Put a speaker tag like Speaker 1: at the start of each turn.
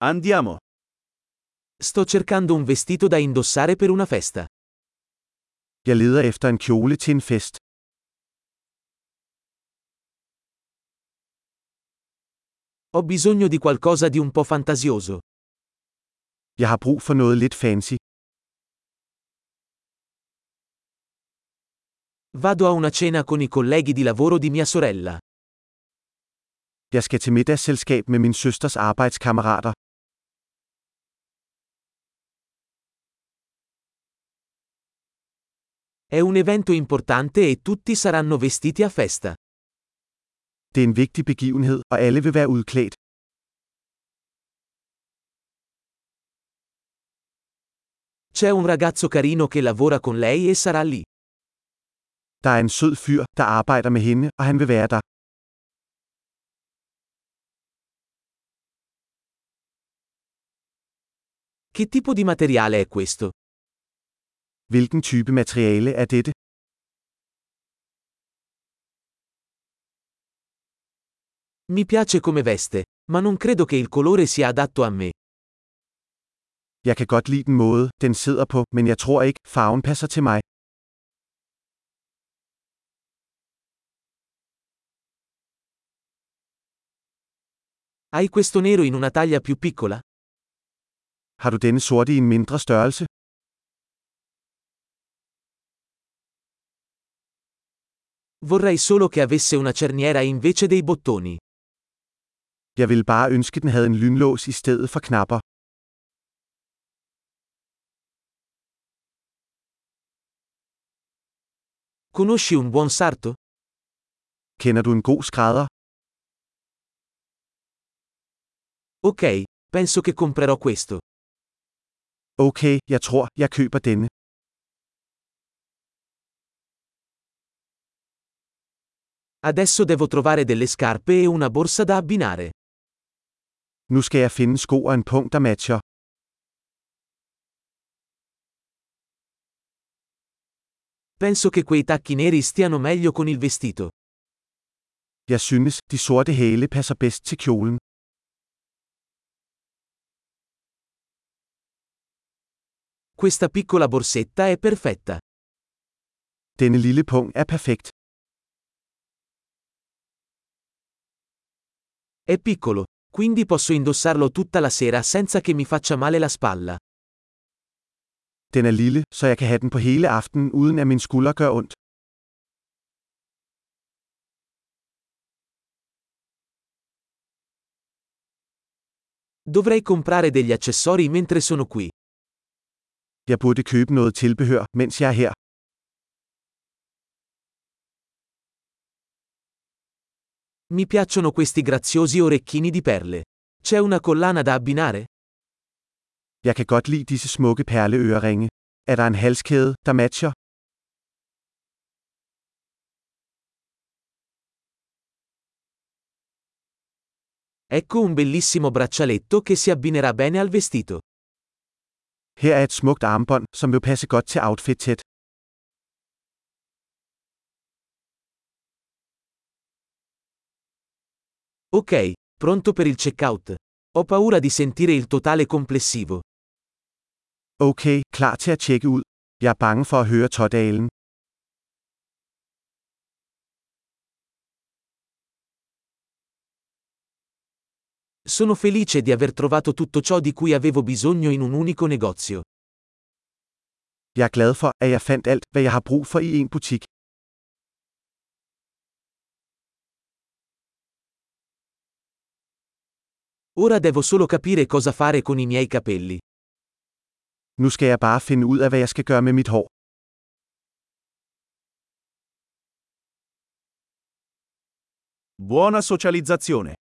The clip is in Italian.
Speaker 1: Andiamo.
Speaker 2: Sto cercando un vestito da indossare per una festa.
Speaker 3: Jeg leder efter en kjole til en fest.
Speaker 2: Ho bisogno di qualcosa di un po' fantasioso.
Speaker 3: Jeg har brug for noget lidt fancy.
Speaker 2: Vado a una cena con i colleghi di lavoro di mia sorella.
Speaker 3: Jeg skal til middagsselskab med min søsters arbejdskammerater.
Speaker 2: È un evento importante e tutti saranno vestiti a festa.
Speaker 3: Det er en vigtig begivenhed, og alle vil være udklædt.
Speaker 2: C'è un ragazzo carino che lavora con lei e sarà lì.
Speaker 3: Der er en sød fyr, der arbejder med hende, og han vil være der.
Speaker 2: Che tipo di materiale è questo?
Speaker 3: Hvilken type materiale er dette?
Speaker 2: Mi piace come veste, ma non credo che il colore sia adatto a me.
Speaker 3: Jeg kan godt lide den måde, den sidder på, men jeg tror ikke, farven passer til mig.
Speaker 2: Hai questo nero in una taglia più piccola?
Speaker 3: Har du denne sorte i en mindre størrelse?
Speaker 2: Vorrei solo che avesse una cerniera invece dei bottoni.
Speaker 3: Jeg ville bare ønske, den havde en lynlås i stedet for knapper.
Speaker 2: Conosci un buon sarto?
Speaker 3: Kender du en god skrædder?
Speaker 2: Ok, penso che comprerò questo.
Speaker 3: Okay, jeg tror, jeg køber denne.
Speaker 2: Adesso devo trovare delle scarpe e una borsa da abbinare.
Speaker 3: Nu skal jeg finde sko og en pung, der matcher.
Speaker 2: Penso che quei tacchi neri stiano meglio con il vestito.
Speaker 3: Jeg synes, de sorte hæle passer bedst til kjolen.
Speaker 2: Questa piccola borsetta è perfetta.
Speaker 3: Denne lille pung er perfekt.
Speaker 2: È piccolo, quindi posso indossarlo tutta la sera senza che mi faccia male la spalla.
Speaker 3: Den er lille, så jeg kan have den på hele aftenen, uden at min skulder gør ondt.
Speaker 2: Dovrei comprare degli accessori mentre sono qui.
Speaker 3: Jeg burde købe noget tilbehør, mens jeg er her.
Speaker 2: Mi piacciono questi graziosi orecchini di perle. C'è una collana da abbinare?
Speaker 3: Jeg kan godt lide disse smukke perleøreringe. Er der en halskæde, der matcher?
Speaker 2: Ecco un bellissimo braccialetto che si abbinerà bene al vestito.
Speaker 3: Her er et smukt armbånd, som vil passe godt til outfitet.
Speaker 2: Ok, pronto per il checkout. Ho paura di sentire il totale complessivo.
Speaker 3: Okay, klar til at tjekke ud. Jeg er bange for at høre totalen.
Speaker 2: Sono felice di aver trovato tutto ciò di cui avevo bisogno in un unico negozio.
Speaker 3: Jeg er glad for, at jeg fandt alt, hvad jeg har brug for i en butik.
Speaker 2: Ora devo solo capire cosa fare con i miei capelli.
Speaker 3: Nu skal jeg bare finde ud af, hvad jeg skal gøre med mit hår.
Speaker 1: Buona socializzazione.